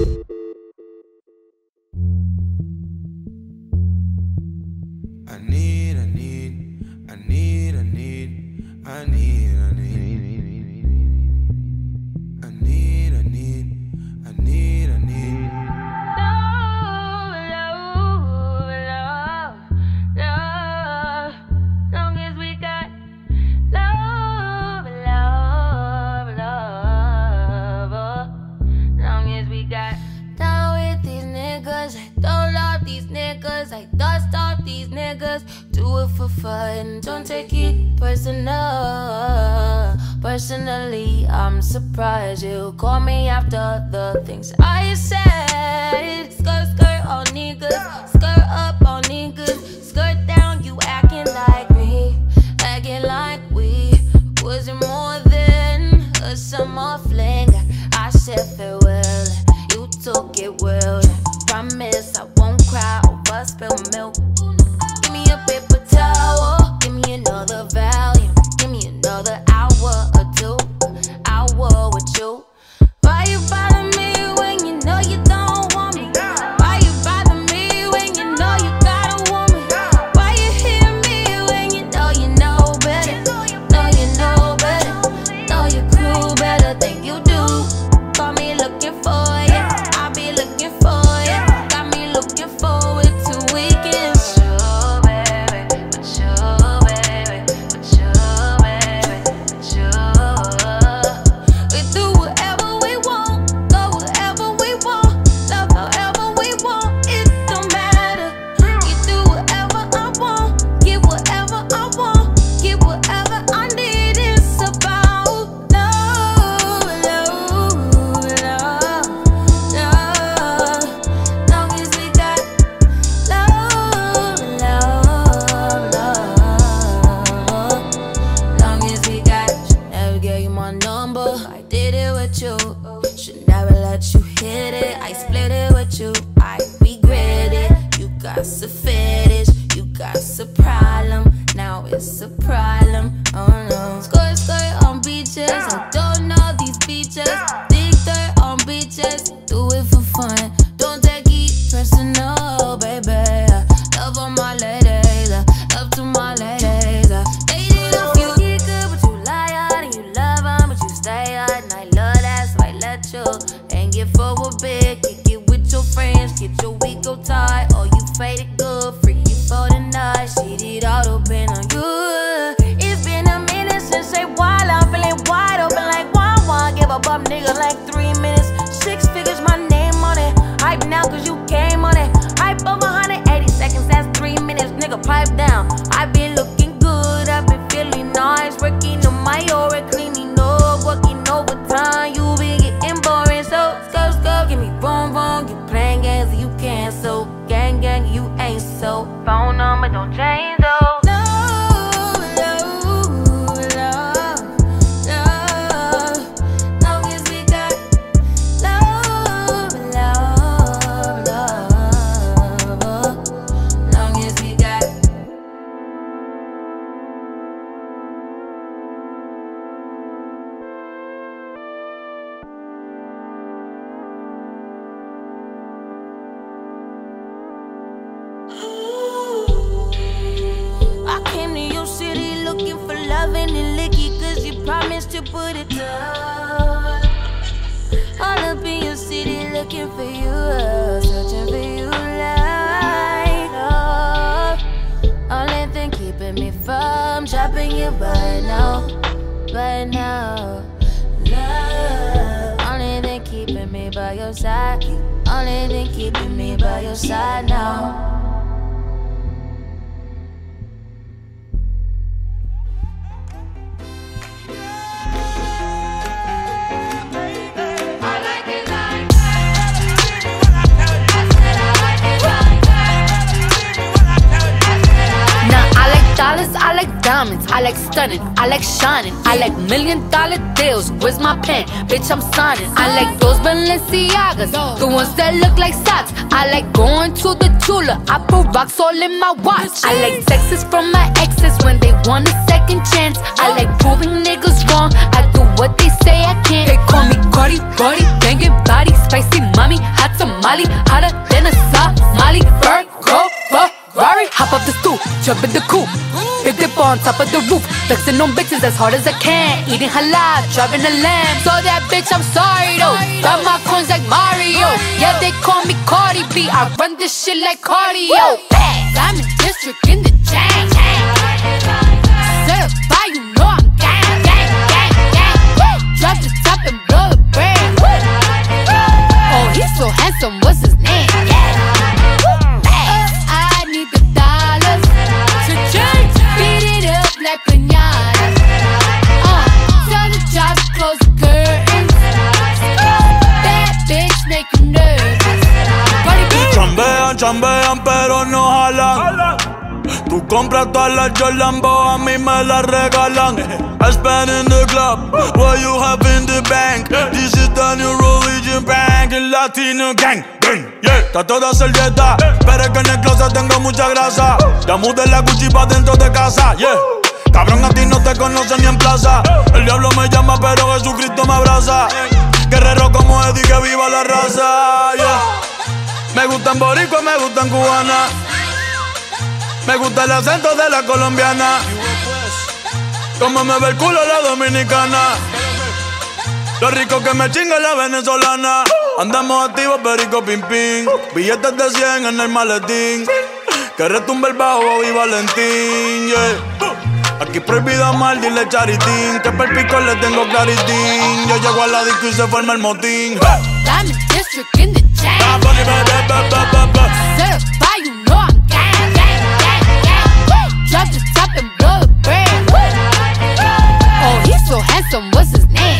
Do it for fun, don't take it personal. Personally, I'm surprised you call me after the things I said. Skirt, skirt on niggas, skirt up on niggas, skirt down, you acting like me, acting like we was it more than a summer fling. I said farewell, you took it well. Promise I won't cry over spilled milk. Give me a paper towel, give me another volume, give me another hour or two, hour with you. Why you bother me when you know you don't want me? Why you bother me when you know you got a woman? Why you hear me when you know better? Know you know better, know your crew better than you do. Call me looking for you, I'll be looking for you. Got me looking forward to weekends. put it down. All up in your city looking for you, searching for you like only thing keeping me from dropping you by now. Love, only thing keeping me by your side. Only thing keeping me by your side now. I like diamonds, I like stunning, I like shining, I like $1 million deals. Where's my pen? Bitch, I'm signing. I like those Balenciagas, the ones that look like socks. I like going to the Tula, I put rocks all in my watch. I like texts from my exes when they want a second chance. I like proving niggas wrong, I do what they say I can't. They call me Cardi, Cardi, banging body, spicy mommy, hot tamale, hotter than a Somali. Virgo, Ferrari, hop up the stoop, jump in the coupe, big dip on top of the roof, flexing on bitches as hard as I can, eating halal, driving a lamb. So that bitch, I'm sorry though, got my coins like Mario. Yeah, they call me Cardi B, I run this shit like cardio. I'm in district in the chain. Certified, you know I'm gang, gang, gang, gang. Drop the top and blow the brand. Oh, he's so handsome, what's his name? Like piñata. Tell the job to close the curtains. Bad bitch make you nervous. Chambean, chambean, pero no jalan. Tú compras todas las Jolambo, a mí me las regalan. I spend in the club, what you have in the bank. This is the new religion bank, el Latino gang. Yeah, está toda servieta, pero es que en el closet tengo mucha grasa. Ya mudé la Gucci pa' dentro de casa, yeah. Cabrón, a ti no te conocen ni en plaza. El diablo me llama, pero Jesucristo me abraza. Guerrero como Eddie, que viva la raza, yeah. Me gustan boricua, me gustan cubana. Me gusta el acento de la colombiana. Como me ve el culo la dominicana. Lo rico que me chinga la venezolana. Andamos activos, perico, pim, pim. Billetes de 100 en el maletín. Que retumbe el bajo, Bobby Valentín, yeah. Aquí prohibido amar, dile charitín. Que per pico le tengo claritín. Yo llego a la disco y se forma el motín. Diamond District in the chain. Certified, you know I'm gang, gang, gang, gang. Drop the top and blow the brand. Oh, he's so handsome, what's his name?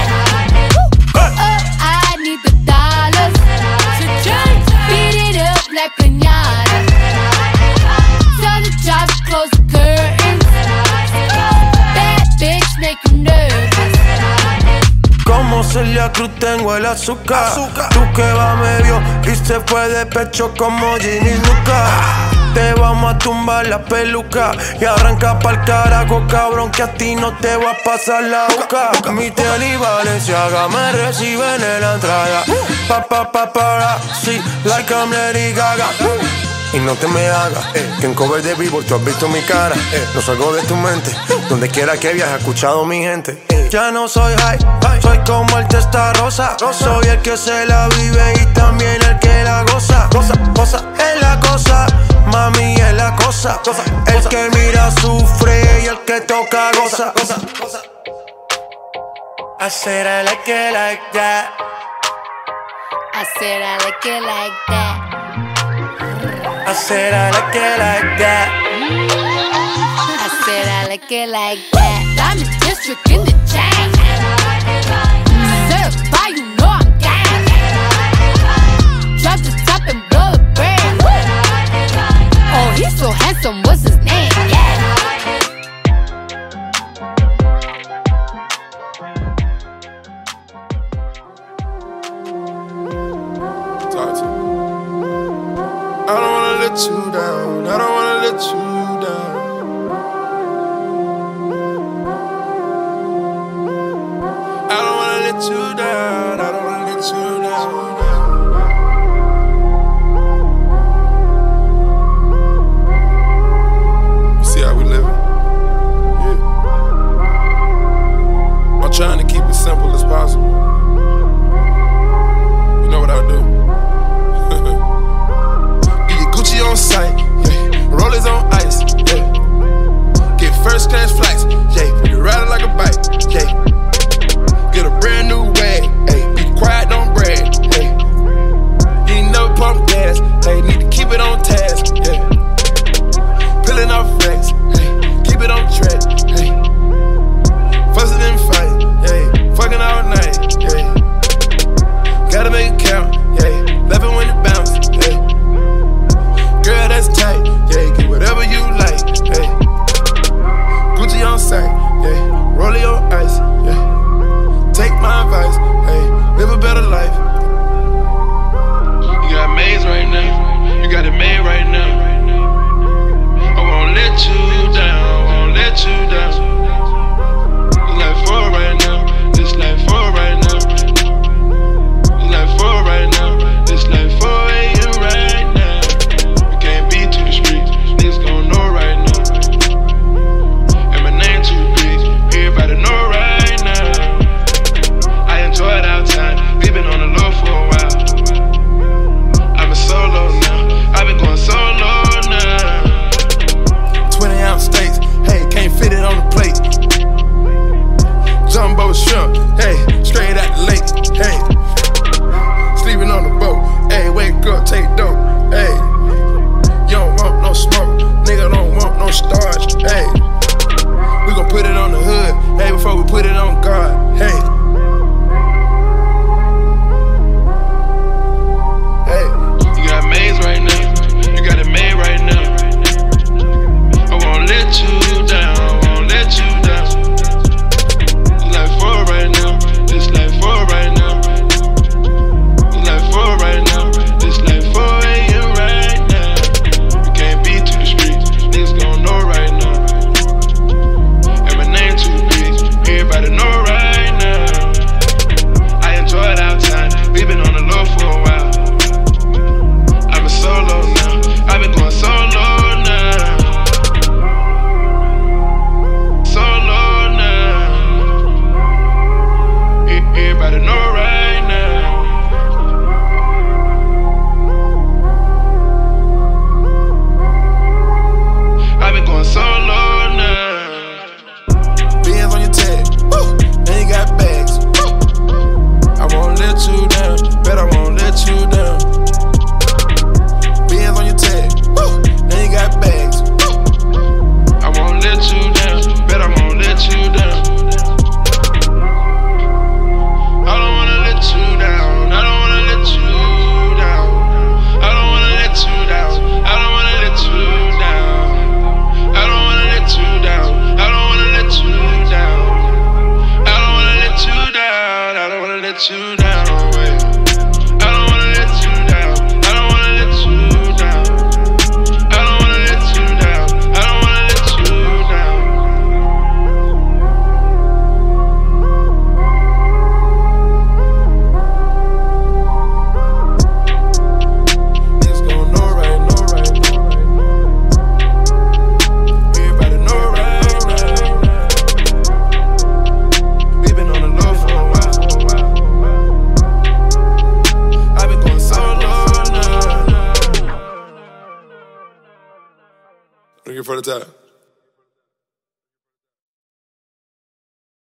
I need the dollars to beat it up like piñata. Tell the job to close the curtains. Bad bitch make you nervous. Como Celia Cruz tengo el azúcar. Tú que va medio y se fue de pecho como Ginny Luca. Te vamos a tumbar la peluca y arranca pa'l carajo, cabrón, que a ti no te va a pasar la boca. Mi tele y Valenciaga me reciben en la entrada. Sí, like I'm Lady Gaga. Y no te me hagas, que en cover de Billboard tú has visto mi cara. No salgo de tu mente, donde quiera que viajes, he escuchado mi gente. Ya no soy high, soy como el Testarossa. Soy el que se la vive y también el que la goza. Cosa, es la cosa, mami es la cosa. El que mira sufre y el que toca goza. I said I like it like that. I said I like it like that. I said I like it like that. I said I like it like that. Diamond District in the chain. Certified, you know I'm gang. Drop the top and blow the brand. Oh, he's so handsome, what's his name? Talk to me. I don't wanna let you down. I don't wanna let you down. I don't wanna let you down. I don't wanna let you down. See, Looking for the top.